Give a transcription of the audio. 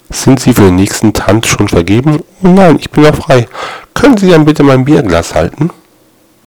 Sind Sie für den nächsten Tanz schon vergeben? Oh nein, ich bin noch frei. Können Sie dann bitte mein Bierglas halten?